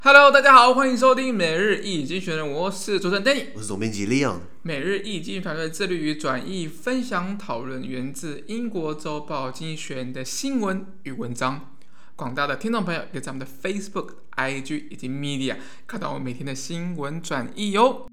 Hello， 大家好，歡迎收聽每日一經濟學人，我是主持人 Danny， 我是總編輯 Leon。 每日一經濟團隊致力於轉譯、分享、討論源自英國週報《經濟學人》的新聞與文章。廣大的聽眾朋友可以在我們的 Facebook、IG 以及 Media 看到我們每天的新聞轉譯喲。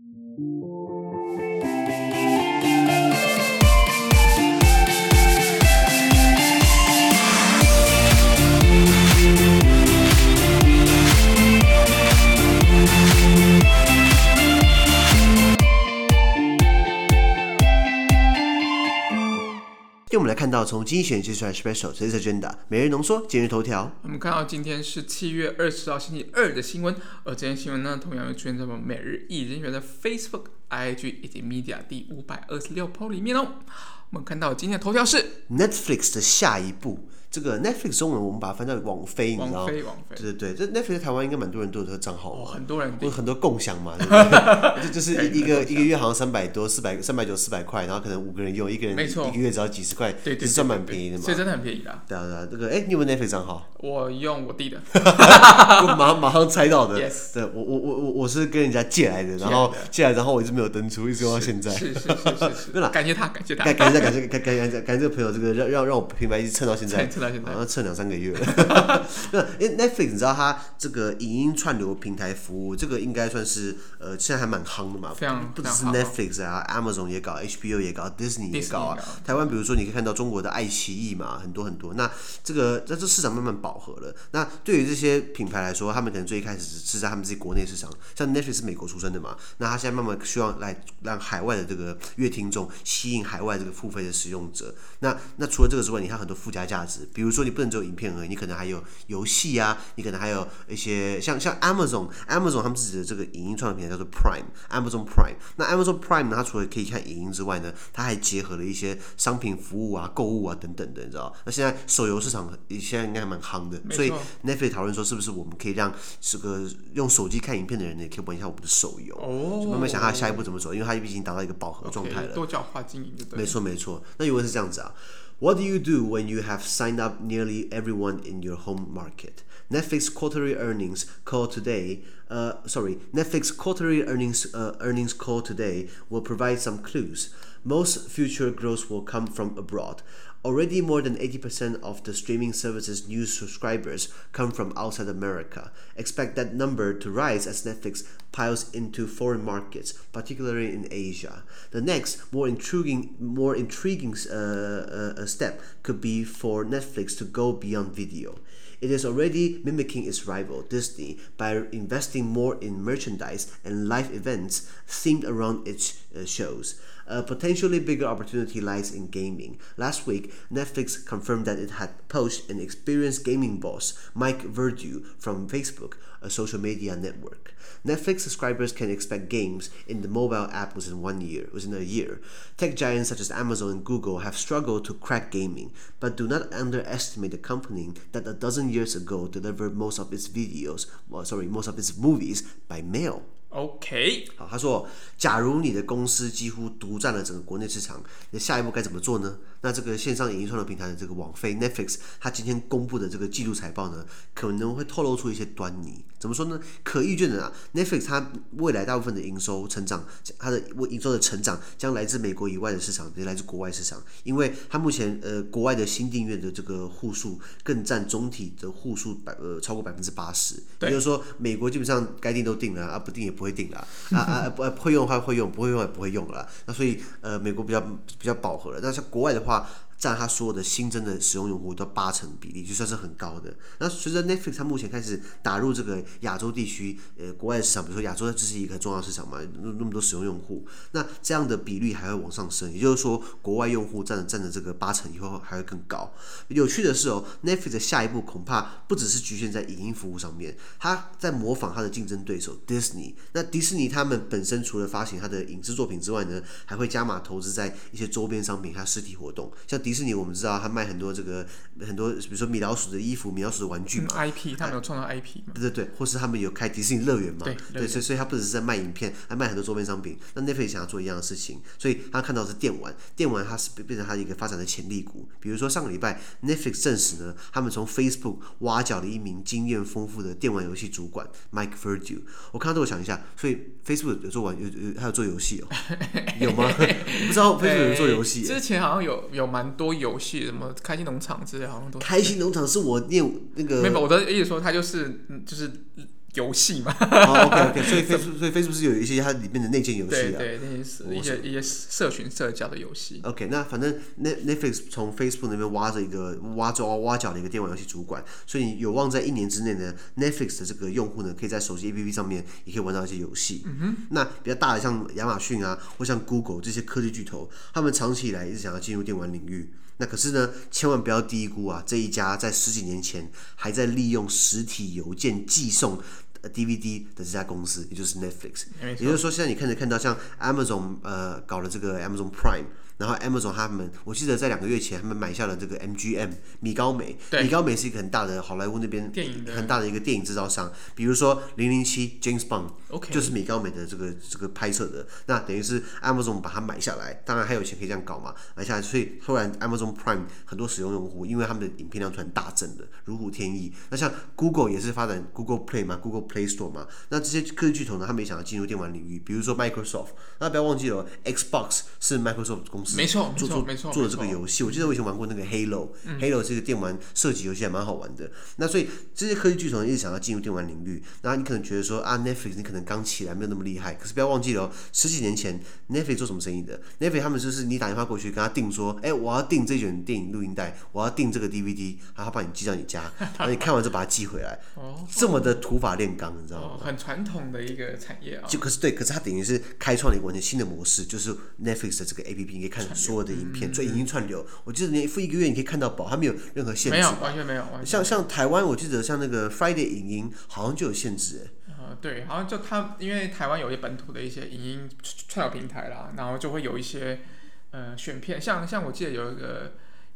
我們來看到從經濟學人接出來 Special Today's Agenda 每日濃縮今日頭條。 我們看到今天是7月20號星期二的新聞，而這些新聞呢，同樣會出現在我們每日一經濟學人的 Facebook、IG 以及 Media 第526 po 裡面哦。我們看到今天的頭條是 Netflix 的下一步。這個 Netflix 中文我們把它翻到網飛，你知道嗎？ 網飛， 对对对，這 Netflix 在台灣應該蠻多人都有這個賬號， 很多人有很多共享嘛，對不對？就是一個月好像300多、390、400塊，然後可能5個人用，一個人一個月只要幾十塊， 對， 是算蠻便宜的嘛。 所以真的很便宜啦。 對啊，這個你有沒有 Netflix 賬號？ 我用我弟的， 我馬上猜到的。 Yes. 對，我是跟人家借來的，然後我一直沒有登出，一直用到現在。 是，對了，感謝他，感謝這個朋友，這個讓我品牌一直蹭到現在，好像蹭2-3個月了。因為 Netflix 你知道它這個影音串流平台服務，這個應該算是現在還蠻夯的嘛，不只是 Netflix 啊 ，Amazon 也搞 ，HBO 也搞 ，Disney 也搞啊。台灣比如說你可以看到中國的愛奇藝嘛，很多。那這市場慢慢飽和了。那對於這些品牌來說，他們可能最一開始是在他們自己國內市場，像 Netflix 是美國出生的嘛，那他現在慢慢希望來讓海外的這個閱聽眾吸引海外這個付費的使用者。那除了這個之外，你還有很多附加價值，比如說你不能只有影片而已，你可能還有遊戲啊，你可能還有一些像 Amazon 他們自己的這個影音創作平台叫做 Prime。Amazon Prime， 那 Amazon Prime 呢，它除了可以看影音之外呢，它還結合了一些商品服務啊、購物啊等等的，你知道？那現在手遊市場現在應該還蠻夯的，所以 Netflix 討論說是不是我們可以讓這個用手機看影片的人呢，可以玩一下我們的手遊，就慢慢想他下一步怎麼走，因為他畢竟達到一個飽和狀態了， 多角化經營就對了。 沒錯。那原文是這樣子啊。What do you do when you have signed up nearly everyone in your home market? Netflix quarterly earnings call today. Netflix quarterly earnings call today will provide some clues. Most future growth will come from abroad. Already more than 80% of the streaming service's new subscribers come from outside America. Expect that number to rise as Netflix piles into foreign markets, particularly in Asia. The next, more intriguing step could be for Netflix to go beyond video. It is already mimicking its rival, Disney, by investing more in merchandise and live events themed around its shows. A potentially bigger opportunity lies in gaming. Last week, Netflix confirmed that it had poached an experienced gaming boss, Mike Verdu, from Facebook, a social media network. Netflix subscribers can expect games in the mobile app within a year. Tech giants such as Amazon and Google have struggled to crack gaming, but do not underestimate the company that a dozen years ago delivered most of its movies by mail. OK， 好，他說，假如你的公司幾乎獨佔了整個國內市場，你下一步該怎麼做呢？那這個線上影音創作平台的這個網飛 Netflix， 它今天公布的這個季度財報呢，可能會透露出一些端倪。怎麼說呢？可預見的啊 ，Netflix 它未來大部分的營收成長，它的營收的成長將來自美國以外的市場，也來自國外市場，因為它目前國外的新訂閱的這個戶數更佔總體的戶數超過80%，也就是說，美國基本上該訂都訂了啊，不訂也不會訂了會用的話會用，不會用也不會用了。那所以美國比較飽和了。那像國外的話，占它所有的新增的使用用戶都80%比例，就算是很高的。那隨着 Netflix 它目前開始打入這個亞洲地區，國外的市場，比如說亞洲這是一個重要市場嘛，那麼多使用用戶，那這樣的比率還會往上升，也就是說，國外用戶占的這個80%以後還會更高。有趣的是Netflix 的下一步恐怕不只是局限在影音服務上面，它在模仿它的競爭對手 Disney。那迪士尼他們本身除了發行它的影視作品之外呢，還會加碼投資在一些周邊商品和實體活動，像迪士尼我們知道他賣很多很多，比如說米老鼠的衣服、米老鼠的玩具嘛 ，IP 他們有創造 IP 嘛？ 对，或是他们有開迪士尼樂園嘛？對，所以他不只是在賣影片，還賣很多周邊商品。那 Netflix 想要做一樣的事情，所以他看到的是電玩它是變成他一個發展的潛力股。比如說上個禮拜 Netflix 證實呢，他們從 Facebook 挖角了一名經驗豐富的電玩遊戲主管 Mike Verdu。我看到這，我想一下，所以 Facebook 還有做遊戲哦？有嗎？我不知道 Facebook 有做遊戲。 之前好像有蠻多遊戲，什麼開心農場之類，好像都。 開心農場是我念那個。 沒有，我的意思說，它就是遊戲嘛。 OK， 所以 Facebook 是有一些它裡面的內建遊戲啊。 對，那些一些社群社交的遊戲。 OK， 那反正 Netflix 從 Facebook 那邊挖角的一個電玩遊戲主管，所以你有望在1年之內呢 ，Netflix 的這個用戶呢，可以在手機 APP 上面也可以玩到一些遊戲。那比較大的像亞馬遜啊，或像 Google 這些科技巨頭，他們長期以來一直想要進入電玩領域。那可是呢，千萬不要低估啊，這一家在10幾年前還在利用實體郵件寄送DVD 的這家公司，也就是 Netflix。也就是說，現在你看到像 Amazon 搞了這個 Amazon Prime。然後 Amazon 他們，我記得在2個月前，他們買下了這個 MGM 米高梅。米高梅是一個很大的好萊塢那邊很大的一個電影製造商，比如說007 James Bond， 就是米高梅的這個拍攝的。那等於是 Amazon 把它買下來，當然還有錢可以這樣搞嘛，買下來，所以突然 Amazon Prime 很多使用戶，因為他們的影片量突然大增的如虎添翼。那像 Google 也是發展 Google Play 嘛 ，Google Play Store 嘛，那這些科技巨頭呢，他們也想要進入電玩領域，比如說 Microsoft， 那不要忘記了 ，Xbox 是 Microsoft 公司。 沒錯， 做的這個遊戲，我記得我以前玩過那個 Halo，Halo 是一個電玩射擊遊戲，還蠻好玩的。那所以這些科技巨頭一直想要進入電玩領域，然後你可能覺得說啊 ，Netflix 你可能剛起來沒有那麼厲害，可是不要忘記了，10幾年前 Netflix 做什麼生意的 ？Netflix 他們就是你打電話過去跟他訂說，我要訂這卷電影錄音帶，我要訂這個 DVD，然後他把你寄到你家，然後你看完之後把它寄回來，這麼的土法煉鋼，你知道嗎？ 很傳統的一個產業啊。 可是它等於是開創了一個完全新的模式，就是 Netflix 的這個 APP， 你可以看所有的影片，所以影音串流，我記得你付1個月你可以看到飽，它沒有任何限制， 沒有，完全沒有。 像台灣，我記得像那個 Friday 影音好像就有限制對，好像就因為台灣有一些本土的一些影音串流平台啦，然後就會有一些選片，像我記得有一個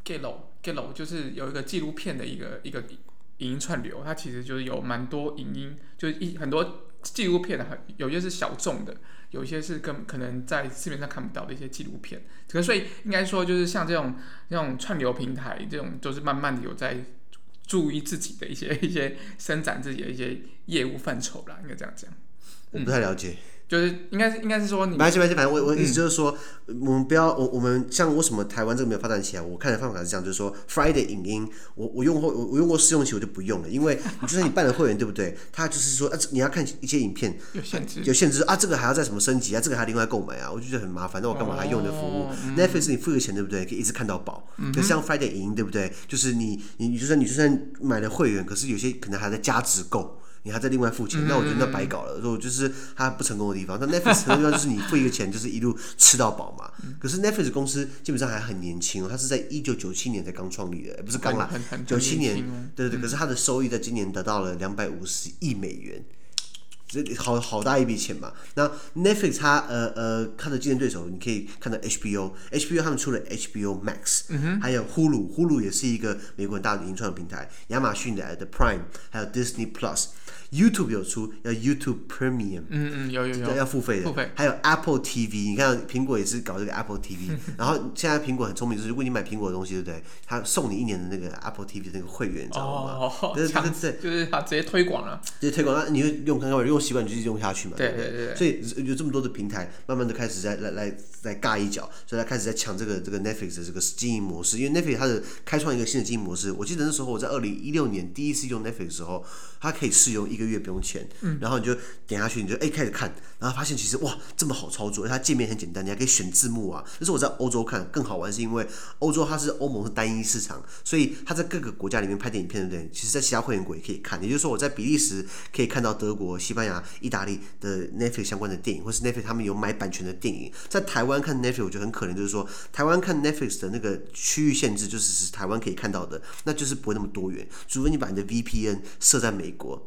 Gelo 就是有一個紀錄片的一個影音串流，它其實就是有蠻多影音，就是很多紀錄片的，有些是小眾的。有一些是可能在市面上看不到的一些紀錄片，所以應該說就是像這種串流平台，這種都是慢慢的有在注意自己的一些伸展自己的一些業務範疇啦，應該這樣講。 我不太了解。 就是應該是說你， 沒關係，反正我意思就是說，我們不要我們像為什麼台灣這個沒有發展起來？我看的方法是這樣，就是說 Friday 影音，我用過試用期我就不用了，因為就算你辦了會員，對不對？他就是說你要看一些影片有限制啊，這個還要再什麼升級啊，這個還要另外購買啊，我就覺得很麻煩。那我幹嘛還用的服務？Netflix 你付個錢，對不對？可以一直看到飽。可是像 Friday 影音，對不對？就是你就算買了會員，可是有些可能還在加值購。你還在另外付錢，那我覺得那白搞了。所以就是它不成功的地方。那 Netflix 的地方就是你付一個錢，就是一路吃到飽嘛。可是 Netflix 公司基本上還很年輕哦，它是在1997年才剛創立的，不是剛啦，97年，對。可是它的收益在今年得到了250億美元。好大一筆錢嘛。那 Netflix 它的競爭對手，你可以看到 HBO 他們出了 HBO Max，還有 Hulu 也是一個美國很大的影串平台，亞馬遜的 Prime， 還有 Disney Plus。YouTube 有出，要 YouTube Premium， 有要付費的，還有 Apple TV， 你看蘋果也是搞這個 Apple TV， 然後現在蘋果很聰明，就是如果你買蘋果的東西，對不對？他送你1年的那個 Apple TV 的那個會員，你知道嗎？對， 就是他直接推廣了， 直接推廣，那你会用習慣你就用下去嘛， 對。 所以有這麼多的平台，慢慢的開始來尬一腳，所以他開始在搶這個 Netflix 的這個經營模式，因為 Netflix 它的開創一個新的經營模式，我記得那時候我在2016年第一次用 Netflix 的時候，它可以試用1個月不用錢，然後你就點下去，你就開始看，然後發現其實哇這麼好操作，它界面很簡單，你還可以選字幕啊。這是我在歐洲看更好玩，是因為歐洲它是歐盟是單一市場，所以它在各個國家裡面拍電影片，對不對？其實在其他會員國也可以看，也就是說我在比利時可以看到德國、西班牙、意大利的 Netflix 相關的電影，或是 Netflix 他們有買版權的電影。在台灣看 Netflix 我覺得很可憐，就是說台灣看 Netflix 的那個區域限制，就只是台灣可以看到的，那就是不會那麼多元，除非你把你的 VPN 設在美國，那看得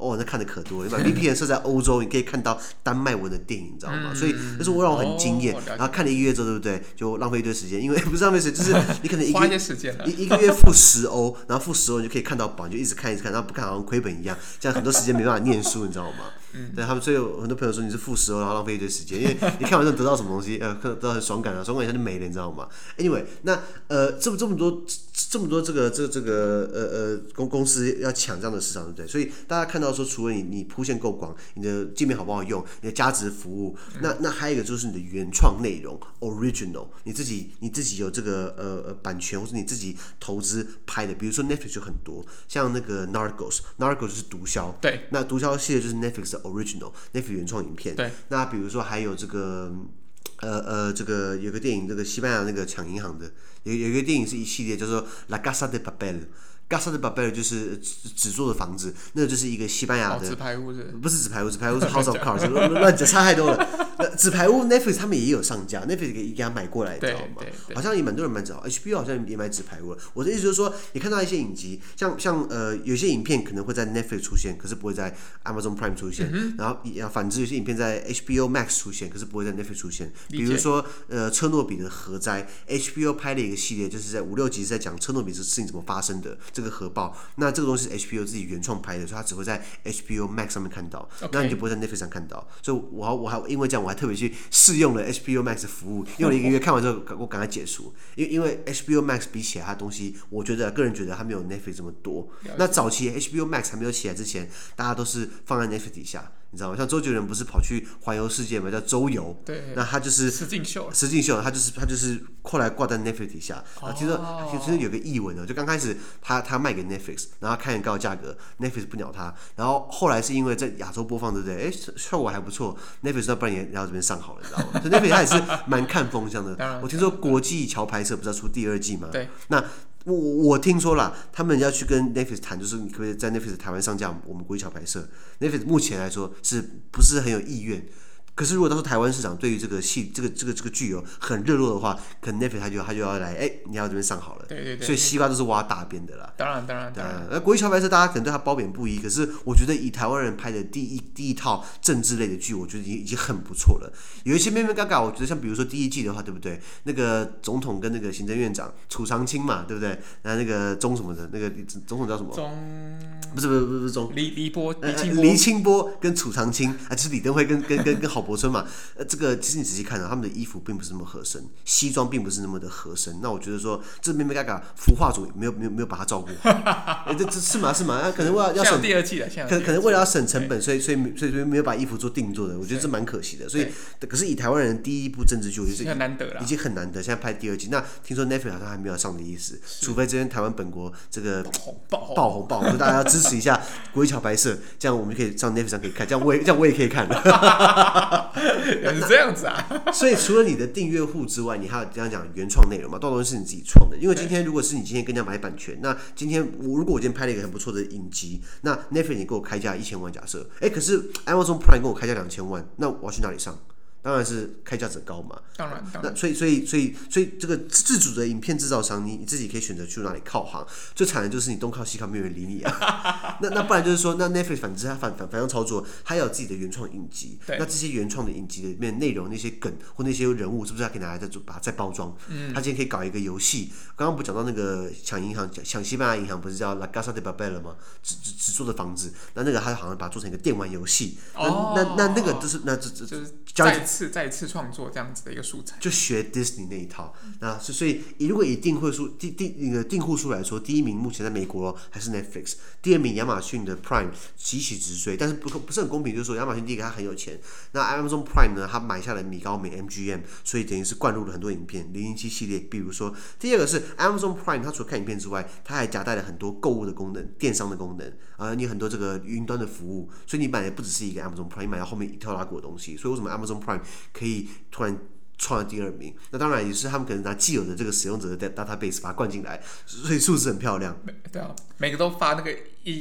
的可多了。你把 VPN 設在歐洲，你可以看到丹麥文的電影，你知道嗎？所以那是我讓我很驚豔。然後看了1個月之後，對不對？就浪費一堆時間，因為不是浪費時間，就是你可能花一些時間一個月付10歐，然後付10歐你就可以看到寶，你就一直看，然後不看好像虧本一樣，這樣很多時間沒辦法念書，你知道嗎？對他們，所以有很多朋友說你是付10歐，然後浪費一堆時間，因為你看完之後得到什麼東西，得到很爽感啊，爽感一下就沒了，你知道嗎 ？Anyway， 那這麼多這個公司要搶這樣的市場，對不對？所以大家看到說，除了你鋪線夠廣，你的界面好不好用，你的價值服務，那還有一個就是你的原創內容 original， 你自己有這個版權或者你自己投資拍的，比如說 Netflix 就很多，像那個 Narcos 就是毒梟，對，那毒梟系列就是 Netflix 的 original Netflix 原創影片，对，那比如說還有这個有個電影，這個西班牙那個搶銀行的，有一個電影是一系列叫做 La Casa de Papel。Casa de Papel 就是紙做的房子，那個就是一個西班牙的。紙牌屋是？不是紙牌屋，紙牌屋是 House of Cards， 亂講差太多了。紙牌屋 Netflix 他們也有上架 ，Netflix 給他買過來，你知道嗎？好像也蠻多人買紙，HBO 好像也買紙牌屋了。我的意思就是說，你看到一些影集，像有些影片可能會在 Netflix 出現，可是不會在 Amazon Prime 出現。然後反之，有些影片在 HBO Max 出現，可是不會在 Netflix 出現。比如說車諾比的核災 ，HBO 拍了一個系列，就是在5、6集是在講車諾比這事情怎麼發生的。這個核爆，那這個東西是 HBO 自己原創拍的，所以它只會在 HBO Max 上面看到，那你就不會在 Netflix 上看到。所以我還因為這樣，我還特別去試用了 HBO Max 的服務，用了1個月，看完之後我趕快解除，因為 HBO Max 比起來，它東西我個人覺得它沒有 Netflix 這麼多。那早期 HBO Max 還沒有起來之前，大家都是放在 Netflix 底下。你知道嗎？像周杰倫不是跑去環遊世界嘛，叫周遊。对。那他就是實境秀，他就是後來掛在 Netflix 底下。聽說有個譯文呢，就剛開始他賣給 Netflix， 然後開很高的價格 ，Netflix 不鳥他。然後後來是因為在亞洲播放，對不對？效果還不錯 ，Netflix 那不然也來到這邊上好了，你知道嗎？所以 Netflix 他也是蠻看風向的。我聽說國際橋拍攝不是要出第2季嗎？對。那我聽說啦，他們要去跟 Netflix 談，就是你可不可以在 Netflix 台灣上架我們國際橋拍攝 ？Netflix 目前來說是不是很有意願？可是如果到時候台灣市場對於這個劇有很熱絡的話，可能 Netflix 他就要來，你要這邊上好了。对。所以西瓜都是挖大邊的啦。当然。國際橋拍攝大家可能對他褒貶不一，可是我覺得以台灣人拍的第一套政治類的劇，我覺得已經很不錯了。有一些咩咩嘎嘎，我覺得像比如說第1季的話，對不對？那個總統跟那個行政院長楚長青嘛，对不對？那個鐘什麼的，那個總統叫什麼？不是鐘。黎清波跟楚長青就是李登輝跟郝柏村嘛，這個其實你仔細看他們的衣服並不是那麼合身，西裝並不是那麼的合身。那我覺得說，這咩咩嘎嘎服化組沒有把它照顧好，這是嘛？可能為了要省第2季了，可能為了要省成本，所以沒有把衣服做定做的，我覺得這蠻可惜的。所以，可是以台灣人第一部政治劇，我覺得很難得了，已經很難得。現在拍第2季，那聽說 Netflix 好像還沒有上的意思，除非這邊台灣本國這個爆紅，就大家要支持一下國際橋拍攝，這樣我們就可以上 Netflix 上可以看，這樣我也可以看了。原來是這樣子啊！所以除了你的訂閱戶之外，你還有這樣講原創內容嘛？到東西是你自己創的。因為今天如果是你今天跟人家買版權，那今天如果我今天拍了一個很不錯的影集，那 Netflix 你給我開價1000萬，假設，可是 Amazon Prime 跟我開價2000萬，那我要去哪裡上？當然是開價者高嘛。當然。那所以這個自主的影片制造商，你自己可以選擇去哪裡靠行。最慘的就是你東靠西靠，沒有人理你啊。那不然就是說，那 Netflix 反之，它反向操作，它有自己的原創影集。那這些原創的影集裡面內容，那些梗或那些人物，是不是它可以拿來把它再包裝？它今天可以搞一個遊戲。剛剛不講到那個搶銀行，搶西班牙銀行，不是叫 La Casa de Papel 了嗎？紙做的房子，那個它好像把它做成一個電玩遊戲。那個就是再次創作這樣子的一個素材，就學 Disney 那一套。那所以如果以訂戶數來說，第1名目前在美國還是 Netflix， 第2名亞馬遜的 Prime 急起直追，但是不是很公平，就是說亞馬遜第一個他很有錢，那 Amazon Prime 呢，他買下了米高梅 MGM， 所以等於是灌入了很多影片007系列。比如說第2個是 Amazon Prime， 它除了看影片之外，它還夾帶了很多購物的功能、電商的功能，你有很多這個雲端的服務，所以你買的不只是一個 Amazon Prime， 你買到後面一套拉股的東西。所以為什麼 Amazon Prime 可以突然創了第2名？那當然也是他們可能拿既有的這個使用者的 database 把它灌進來，所以數字很漂亮。对啊，每個都發那個一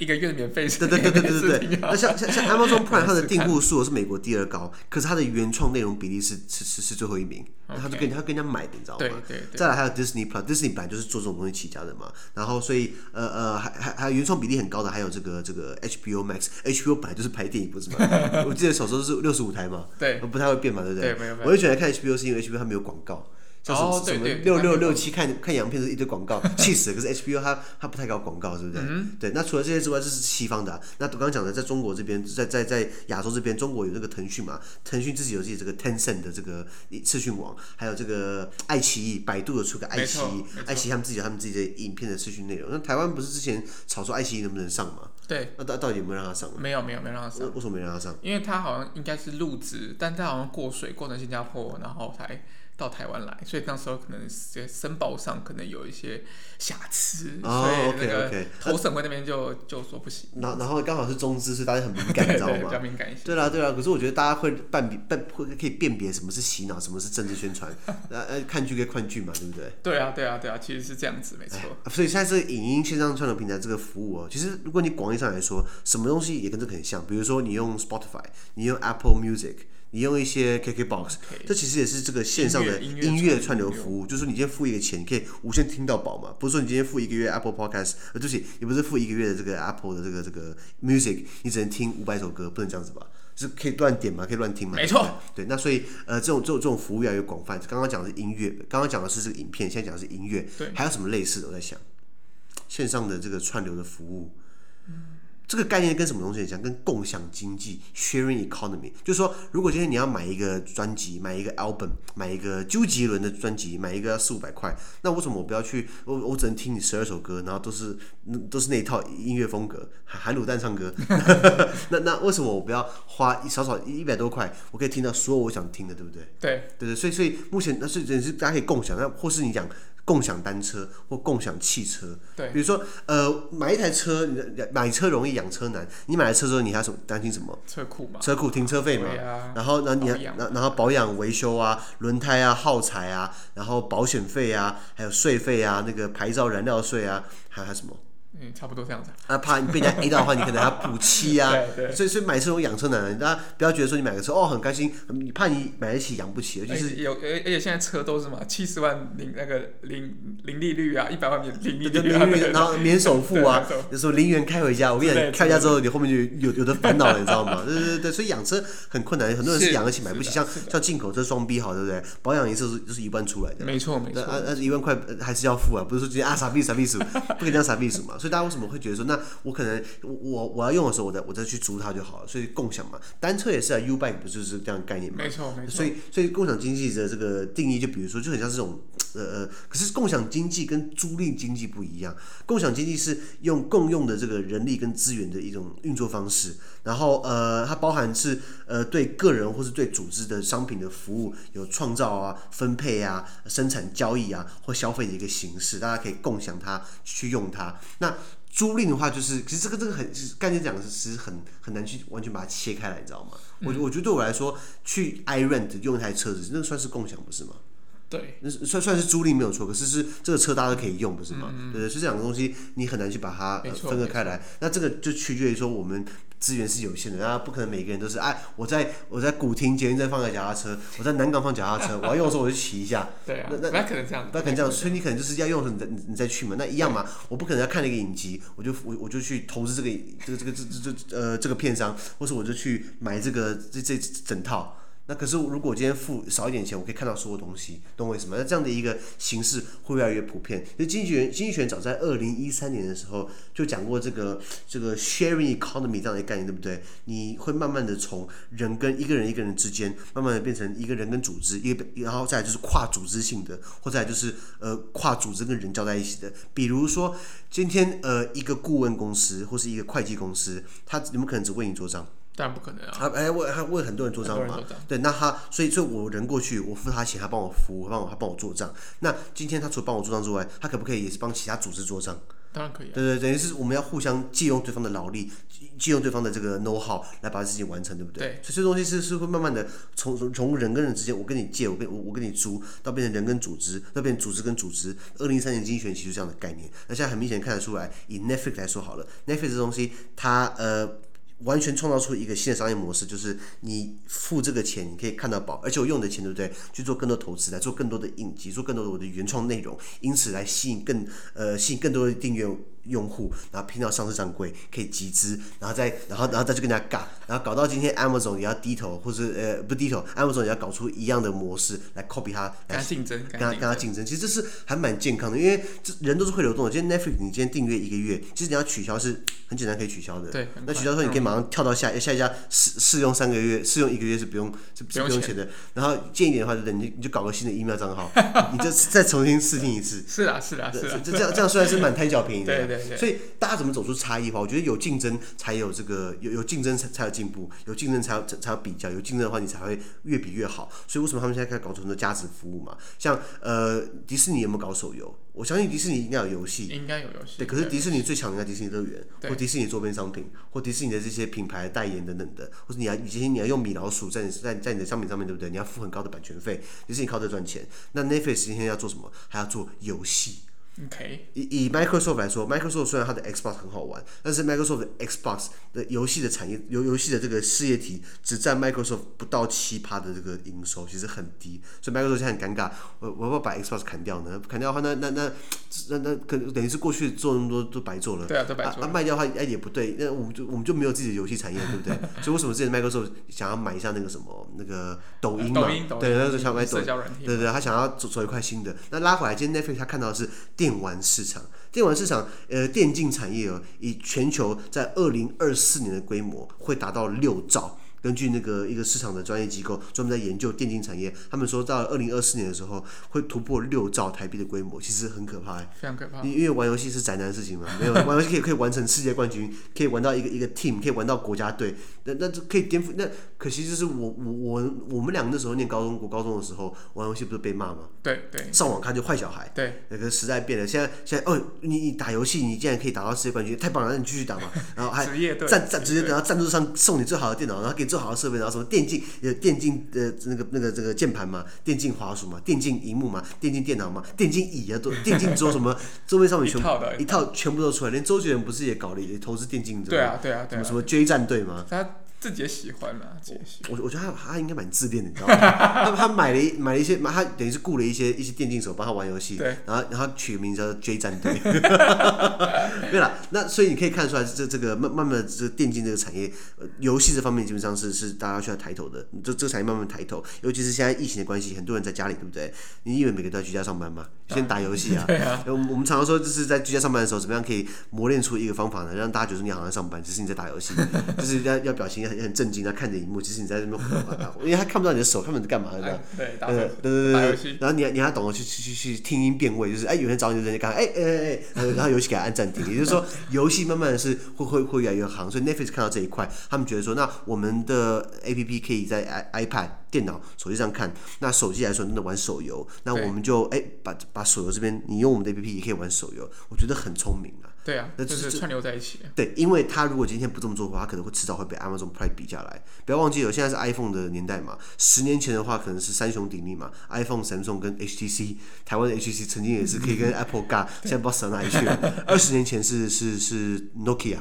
一個月免費。 對。那像 Amazon Prime 它的訂戶數是美國第2高，可是它的原創內容比例是最後1名，他跟人家買的，你知道嗎？ 对。 再来還有 Disney Plus，Disney 本來就是做這種東西起家的嘛，然後所以還有原創比例很高的，還有這個 HBO Max，HBO 本來就是拍電影不是嗎？我記得小時候是65台嘛， 对， 不太會變嘛，对不對？ 对， 我也喜歡看 HBO 是因為 HBO 它沒有廣告。像什麼6667看洋片是一堆廣告，氣死了。可是 HBO 它不太搞廣告，是不是？对。那除了這些之外，這是西方的。那我剛剛講的，在中國這邊，在亞洲這邊，中國有那個騰訊嘛，騰訊自己有自己這個 Tencent 的這個視訊網，還有這個愛奇藝，百度有出個愛奇藝，愛奇藝他們自己有他們自己的影片的視訊內容。那台灣不是之前吵說愛奇藝能不能上嘛？ 對。 那到底有沒有讓他上？ 沒有讓他上。 為什麼沒讓他上？ 因為他好像應該是入職，但他好像過水過成新加坡，然後才到台灣來，所以那時候可能申報上可能有一些瑕疵，所以那個投審會那邊就說不行。然後剛好是中資，所以大家很敏感，你知道嗎？ 比較敏感一些。 對啦。可是我覺得大家會可以辨別什麼是洗腦，什麼是政治宣傳。看劇跟看劇嘛，对不對？ 對啊，其實是這樣子，沒錯。 所以現在這個影音線上串流平台這個服務其實如果你廣義上來說，什麼東西也跟這個很像。比如說你用 Spotify， 你用 Apple Music。你用一些 KKBOX， 這其實也是這個線上的音樂串流服務，就是说你今天付一個錢，你可以無限聽到飽嘛。不是說你今天付1個月 Apple Podcast， 對不起，也不是付1個月的這個 Apple 的這個 Music， 你只能聽500首歌，不能這樣子吧？是可以亂點嘛，可以亂聽嘛？ 沒錯。 對，那所以這種服務越來越廣泛。剛剛講的是音樂，剛剛講的是這個影片，現在講的是音樂。對。還有什麼類似的？我在想，線上的這個串流的服務。這個概念跟什麼東西很像？跟共享經濟 （sharing economy），就是說，如果今天你要買一個專輯，買一個 album， 買一個周杰倫的專輯，買一個要400-500塊，那為什麼我不要去？我只能聽你12首歌，然後都是那一套音樂風格，含滷蛋唱歌。那為什麼我不要花少100多塊，我可以聽到所有我想聽的，對不对？對，所以目前那是大家可以共享，那或是你講。共享單車或共享汽車，对，比如說買一台車，買車容易養車難。你買了車之後，你還要擔心什麼？車庫停車費嘛，然後然後保養維修啊，輪胎啊，耗材啊，然後保險費啊，還有稅費啊，那個牌照燃料稅啊，還有什麼？ 差不多這樣子。 怕你被人家 A 到的話，你可能還要補漆啊。對。所以買車容易養車難，大家不要覺得說你買個車很開心，你怕你買得起養不起，而且現在車都是嘛，70萬零利率啊，100萬零利率啊， 然後免首付啊，有時候0元開回家。我跟你講，開回家之後你後面就有的煩惱了，你知道嗎？對，所以養車很困難，很多人是養得起買不起，像進口車雙 B 好，對不對？保養一次就是1萬出來的。 沒錯。 1萬塊還是要付啊，不是說直接傻逼數，不可以這樣傻逼數嘛。所以大家為什麼會覺得說，那我可能我要用的時候，我再去租它就好了。所以共享嘛，單車也是啊 ，U-Bike 不就是這樣的概念嗎？ 沒錯。 所以共享經濟的這個定義，就比如說，就很像這種可是共享經濟跟租賃經濟不一樣。共享經濟是用共用的這個人力跟資源的一種運作方式，然後它包含是對個人或是對組織的商品的服務有創造啊、分配啊、生產交易啊或消費的一個形式，大家可以共享它去用它。那租賃的話，就是其實這個很概念講的是很難去完全把它切開來，你知道嗎？我覺得對我來說，去 iRent 用一台車子，那個算是共享，不是嗎？ 對， 算是租賃沒有錯，可是這個車大家都可以用，不是嗎？對，所以這兩個東西你很难去把它分割開來。那這個就取決於說我們資源是有限的，那不可能每個人都是我在古亭捷運站放個腳踏車，我在南港放腳踏車，我要用的時候我就騎一下。 對啊，那可能這樣， 那可能這樣，所以你可能就是要用的时候你再去嘛，那一樣嘛。我不可能要看那個影集，我就去投資這個片商，或是我就去買這整套。那可是如果我今天付少一點錢，我可以看到所有東西，懂我意思嗎？那這樣的一個形式會越來越普遍。就經濟學早在2013年的時候就講過這個 sharing economy 這樣的概念，對不對？你會慢慢的從人跟一個人之間，慢慢的變成一個人跟組織，然後再來就是跨組織性的，或者來就是跨組織跟人交在一起的。比如說今天一個顧問公司或是一個會計公司，他有沒有可能只為你做賬？ 當然不可能啊！ 他為很多人做賬嘛，對，那所以我人過去，我付他錢，他幫我服務，他幫我做賬。那今天他除了幫我做賬之外，他可不可以也是幫其他組織做賬？ 當然可以、啊。 對，等於是我們要互相借用對方的勞力，借用對方的這個 know how 來把事情完成，對不对？ 对。 所以這東西是會慢慢的從人跟人之間，我跟你借，我跟你租，到變成人跟組織，到變成組織跟組織。2013年經濟學其實這樣的概念。那現在很明顯看得出來，以 Netflix 來說好了 ，Netflix 這東西它完全創造出一個新的商業模式，就是你付這個錢，你可以看到飽，而且我用你的錢，對不对？去做更多投資，來做更多的影集，做更多的我的原創內容，因此來吸引更多的訂閱用戶，然後拼到上市上櫃，可以集資，然後再去跟人家尬，然後搞到今天 Amazon 也要低頭，或是不低頭 ，Amazon 也要搞出一樣的模式来 copy 它， 跟他競爭， 跟他競爭。其實這是還蠻健康的，因為人都是會流動的。今天 Netflix 你今天訂閱1個月，其實你要取消是很簡單可以取消的。 對， 那取消之後你可以馬上跳到下一家試用3個月，試用1個月是不用錢的。然後建議一點的話，就是你就搞個新的 email 賬號，你就再重新試聽一次。 是啦。 这樣雖然是蠻貪小便宜的， 對。 所以大家怎麼走出差異化？我覺得有競爭才有這個有競爭才有進步，有競爭才有比較，有競爭的話你才會越比越好。所以為什麼他們現在開始搞出很多價值服務嘛？像迪士尼有沒有搞手遊？我相信迪士尼應該有遊戲， 應該有遊戲。 對，可是迪士尼最強的應該迪士尼樂園，或迪士尼周邊商品，或迪士尼的這些品牌代言等等的，或者你要用米老鼠在你的商品上面，对不對？你要付很高的版權費，迪士尼靠這賺錢。那 Netflix 今天要做什麼？還要做遊戲。 Okay. 以 Microsoft 來說 ，Microsoft 雖然它的 Xbox 很好玩，但是 Microsoft 的 Xbox 的遊戲的產業，遊戲的這個事業體只佔 Microsoft 不到7%的這個營收，其實很低。所以 Microsoft 現在很尷尬，我要不要把 Xbox 砍掉呢？砍掉的話，那可能等於是過去做那麼多都白做了。 對啊，都白做了。 賣掉的話，也不對，那我們就沒有自己的遊戲產業，對不对？所以為什麼之前 Microsoft 想要買一下那個什麼那個抖音嘛？對，那個想買抖音，對，他想要走一塊新的。那拉回來，今天 Netflix 他看到的是電玩市場，電競產業以全球在2024年的規模會達到6兆。根據那個一個市場的專業機構專門在研究電競產業，他們說到2024年的時候會突破6兆台幣的規模，其實很可怕， 非常可怕。 因為玩遊戲是宅男的事情嘛，沒有玩遊戲可以完成世界冠軍，可以玩到一個 team， 可以玩到國家隊，那可以顛覆。那可惜就是我們兩個那時候念國高中的時候玩遊戲不是被罵嗎？對，上網看就壞小孩。對，那個時代變了，現在你打遊戲你竟然可以打到世界冠軍，太棒了，那你繼續打嘛。然後還職業隊，直接等到贊助商送你最好的電腦，然後給你最好的設備，然後什麼電競的那個這個鍵盤嘛，電競滑鼠嘛，電競螢幕嘛，電競電腦嘛，電競椅啊，都電競桌什麼周邊商品一套全部都出來，連周杰倫不是也搞了也投資電競？對啊，什麼 J 戰隊嘛，他自己也喜歡嘛，我覺得他應該蠻自戀的，你知道嗎？他買了一些，他等於是雇了一些電競手幫他玩遊戲，然後取個名字叫 J 戰隊。對啦，那所以你可以看出來，這個慢慢的這個電競這個產業，遊戲這方面基本上是大家需要抬頭的，這個產業慢慢抬頭，尤其是現在疫情的關係，很多人在家裡，對不對？你以為每個都在居家上班嗎？先打遊戲啊！我們常常說，就是在居家上班的時候，怎麼樣可以磨練出一個方法呢？讓大家覺得你好像上班，其實你在打遊戲，就是要表情很震驚，看着熒幕，其實你在這邊，因為他看不到你的手，看不到你在幹嘛，對，打遊戲，然後你還懂得去聽音辨位，就是有人找你的人就趕快然後遊戲給他按暫停，也就是說遊戲慢慢的是會越來越行，所以 Netflix 看到這一塊，他們覺得說，那我們的 APP 可以在 iPad、電腦、手機上看，那手機來說真的玩手遊，那我們就把手遊這邊，你用我們的 APP 也可以玩手遊，我覺得很聰明啊。對啊，那就是串流在一起。對，因為他如果今天不這麼做的話，他可能會遲早會被 Amazon Prime 比下來。不要忘記了，現在是 iPhone 的年代嘛，10年前的話可能是三雄鼎立嘛 ，iPhone、Samsung 跟 HTC， 台灣的 HTC 曾經也是可以跟 Apple 尬，現在不知道死到哪裡去了。20年前是 Nokia，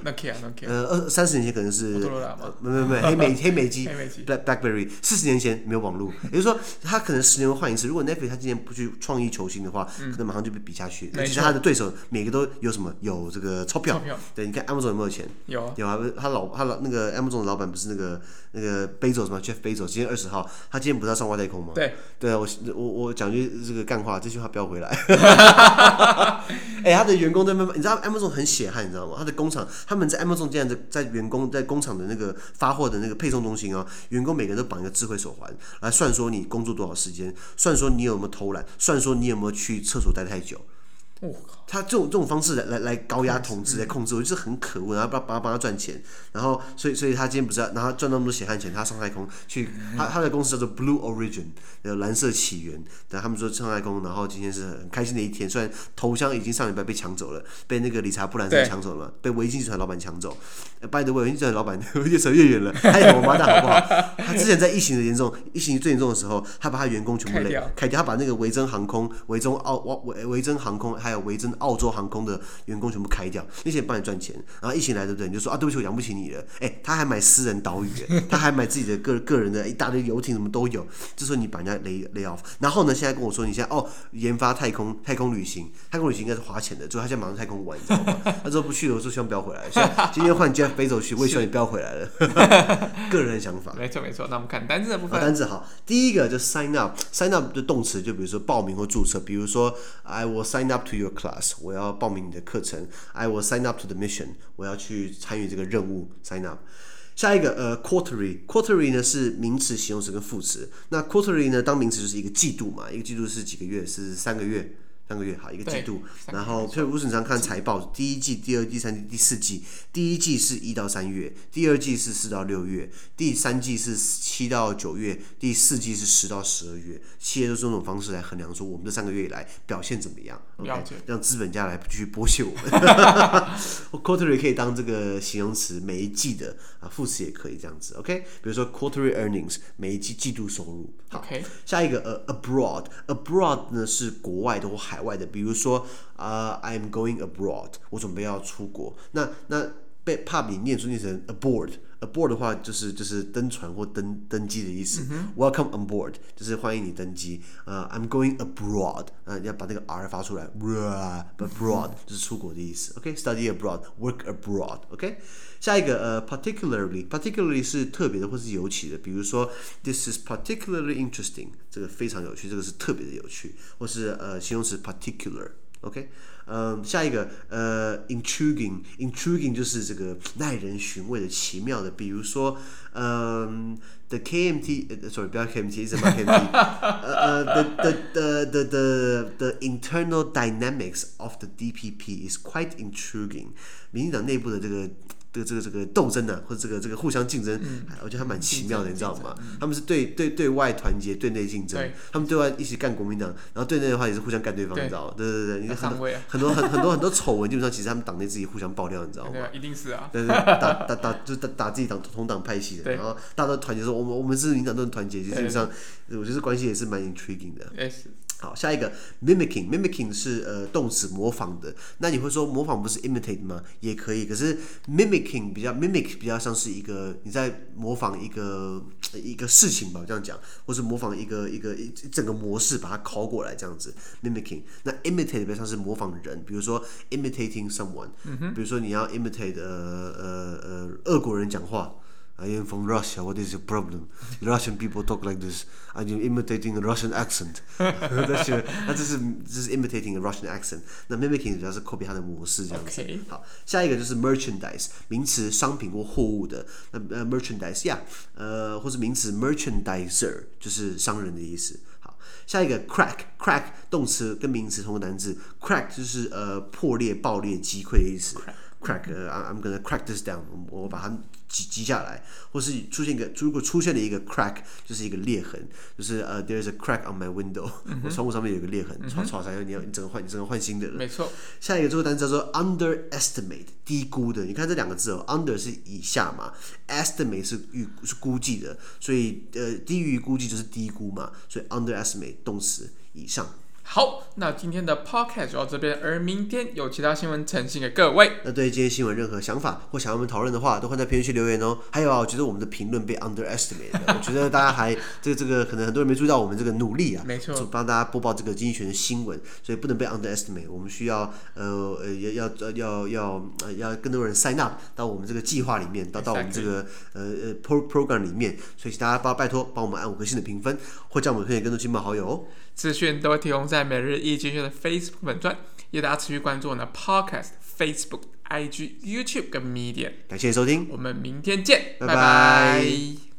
30年前可能是沒黑莓機 ，BlackBerry， 40年前沒有網絡，也就是說他可能10年會換一次。如果 Netflix 他今年不去創意求新的話，可能馬上就被比下去。其實他的對手每個都有什麼有這個鈔票，對，你看 Amazon 有沒有錢？有啊，他那個 Amazon 的老闆不是那個 Bezos 嗎 ？Jeff Bezos 今天20號，他今天不是要上外太空嗎？對啊，我講句這個幹話，這句話不要回來。他的員工在慢慢，你知道 Amazon 很血汗，你知道嗎？他的工廠，他們在 Amazon 這樣在員工在工廠的那個發貨的那個配送中心哦，員工每個人都綁一個智慧手環，來算說你工作多少時間，算說你有沒有偷懶，算說你有沒有去廁所待太久。 他這種方式來高壓統治、來控制，我就是很可惡，然後幫他賺錢，然後所以他今天不是然後賺那麼多血汗錢，他上太空去，他的公司叫做 Blue Origin， 藍色起源，他們說上太空，然後今天是很開心的一天，雖然頭像已經上禮拜被搶走了，被那個理查布蘭森搶走了，被維京集團老板搶走。by the way， 維京集團老板越扯越遠了，他也王八蛋好不好？他之前在疫情最嚴重的時候，他把他員工全部開掉，他把那個維珍航空、維珍航空還有維珍澳洲航空的員工全部開掉，那些人幫你賺錢，然後疫情來，对不对？你就說对不起，我養不起你了。他還買私人島嶼，他還買自己的個人的一大堆遊艇，什麼都有。這時候你把人家 lay off， 然後呢，現在跟我說你現在研發太空旅行應該是花錢的，就他現在馬上太空玩，你知道嗎？他說不去了，我說希望不要回來。所以今天換 Jeff Bezos 去，我也希望你不要回來了。個人的想法。 沒錯。那我們看單字的部分。 單字好，第一個就 sign up 的動詞，就比如說報名或注冊，比如說 I will sign up to your class， 我要報名你的課程 I will sign up to the mission， 我要去參與這個任務 sign up。下一個quarterly 呢是名詞、形容詞跟副詞。那 quarterly 呢當名詞就是一個季度嘛，一個季度是幾個月？是3個月。好，一個季度。然後，所以我經常看財報，第一季、第二季、第三季、第四季。第一季是1到3月，第二季是4到6月，第三季是7到9月，第四季是10到12月。企業都是用這種方式來衡量，說我們這3個月以來表現怎麼樣，讓資本家來繼續剝削我們。Quarterly 可以當這個形容詞，每一季的副詞也可以這樣子。OK， 比如說 quarterly earnings， 每一季季度收入。好，下一個abroad 呢是國外的或海外的，比如說I am going abroad， 我準備要出國。那被怕你念成 aboard 的話就是登船或登機的意思。Welcome on board 就是歡迎你登機。I'm going abroad， 你要把那個 R 發出來。abroad 就是出國的意思。OK，study abroad，work abroad。OK， 下一個particularly 是特別的或是尤其的，比如說 This is particularly interesting， 這個非常有趣，這個是特別的有趣，或是形容詞 particular。OK， 下一個intriguing 就是這個耐人尋味的、奇妙的，比如說the KMT，sorry， 不要 KMT， 是嗎 KMT？ the internal dynamics of the DPP is quite intriguing。民進黨內部的這個鬥爭啊，或者這個互相競爭，我覺得還蠻奇妙的，你知道嗎？他們是對外团結，对內競爭。他們對外一起幹國民黨，然後對內的話也是互相幹對方，你知道嗎？對，你看很多醜聞，基本上其實他們黨內自己互相爆料，你知道嗎？ 对，一定是啊。对， 就是打自己同黨派系的，然後大家都團結說我們是民黨都很团結，基本上我覺得關係也是蠻 intriguing 的。好，下一個 mimicking 是動詞模仿的。那你會說模仿不是 imitate 嗎？也可以，可是 mimic 比較像是一個你在模仿一個事情吧，這樣講，或是模仿一整個模式把它拷過來這樣子 mimicking。那 imitate 比較像是模仿人，比如說 imitating someone，比如說你要 imitate 俄國人講話。I am from Russia. What is your problem? Russian people talk like this. I'm imitating a Russian accent. 那這是 imitating a Russian accent. 那 mimicking 主要是 copy 它的模式這樣子。好，下一個就是 merchandise， 名詞商品或貨物的。那merchandise 或是名詞 merchandiser 就是商人的意思。好，下一個 crack 動詞跟名詞同個單字 ，crack 就是破裂、爆裂、擊潰的意思。I'm gonna crack this down， 我把它擊下來，或是如果出現了一個 crack， 就是一個裂痕，就是there's a crack on my window， 我窗戶上面有一個裂痕，你整個換新的了。没錯。下一個這個單詞叫做 underestimate， 低估的。你看這兩個字under 是以下嘛 ，estimate 是估計的，所以低於估計就是低估嘛，所以 underestimate 動詞以上。 好，那今天的 podcast 就到這邊，而明天有其他新聞呈現給各位。 那對於今天新聞任何想法或想要我們討論的話，都歡迎在評論區留言哦。還有我覺得我們的評論被 underestimate 了，我覺得大家還這個可能很多人沒注意到我們這個努力啊，沒錯，幫大家播報這個經濟學的新聞，所以不能被 underestimate。我們需要要更多人 sign up 到我們這個計劃裡面，到我們這個program 裡面，所以大家拜託幫我們按5顆星的評分，或將我們推薦更多親朋好友哦。 資訊都會提供在每日一經濟學的 Facebook 粉專，也大家持續關注我們的 Podcast、Facebook、IG、YouTube 跟 Medium。 感謝收聽， 我們明天見，拜拜。